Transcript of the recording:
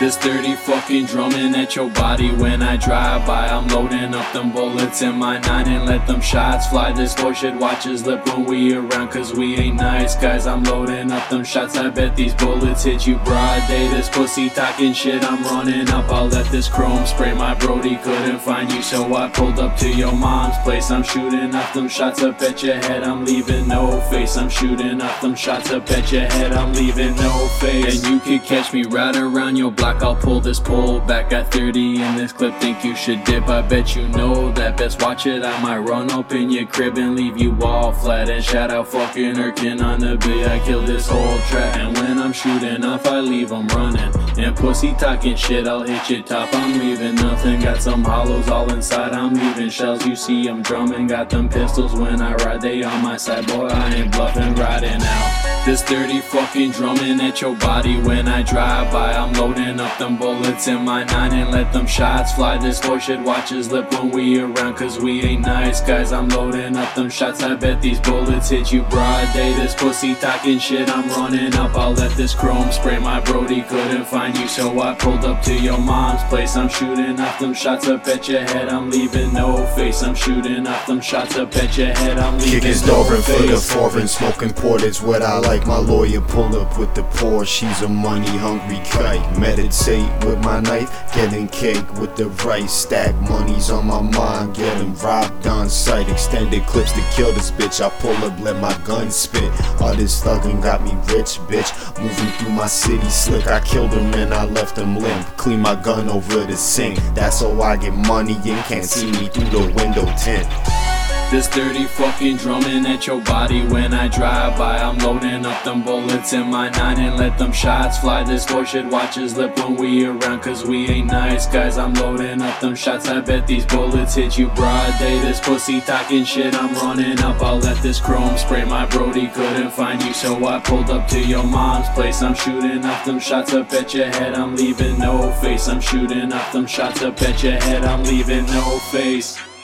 This dirty fucking drumming at your body when I drive by. I'm loading up them bullets in my 9 and let them shots fly. This bullshit watches lip when we around, cause we ain't nice guys. I'm loading up them shots, I bet these bullets hit you broad day. This pussy talking shit, I'm running up. I'll let this chrome spray. My brody couldn't find you, so I pulled up to your mom's place. I'm shooting up them shots up at your head, I'm leaving no face. I'm shooting up them shots up at your head, I'm leaving no face. And you could catch me right around your block. I'll pull this pole back at 30 in this clip. Think you should dip, I bet you know that. Best watch it, I might run up in your crib and leave you all flat. And shout out fucking Erkin on the beat, I killed this whole track. And when I'm shooting off, I leave them running. And pussy talking shit, I'll hit your top. I'm leaving nothing, got some hollows all inside. I'm leaving shells, you see I'm drumming. Got them pistols when I ride, they on my side. Boy, I ain't bluffing, riding out. This dirty fucking drumming at your body when I drive by. I'm loading up them bullets in my 9 and let them shots fly. This horseshit watches lip when we around, cause we ain't nice guys. I'm loading up them shots, I bet these bullets hit you broad day. This pussy talking shit, I'm running up. I'll let this chrome spray. My brody couldn't find you, so I pulled up to your mom's place. I'm shooting up them shots up at your head, I'm leaving no face. I'm shooting up them shots up at your head, I'm leaving Kick his no door in for the face. foreign, smoking port is what I like. My lawyer pull up with the Porsche, she's a money hungry kite. Meditate with my knife, getting cake with the rice. Stack money's on my mind, getting robbed on sight. Extended clips to kill this bitch, I pull up, let my gun spit. All this thuggin' got me rich, bitch. Moving through my city slick, I killed him and I left him limp. Clean my gun over the sink, that's how I get money in. Can't see me through the window tint. This dirty fucking drumming at your body when I drive by. I'm loading up them bullets in my 9 and let them shots fly. This horseshit watches lip when we around, cause we ain't nice guys. I'm loading up them shots, I bet these bullets hit you broad day. This pussy talking shit, I'm running up. I'll let this chrome spray. My brody couldn't find you, so I pulled up to your mom's place. I'm shooting up them shots up at your head, I'm leaving no face. I'm shooting up them shots up at your head, I'm leaving no face.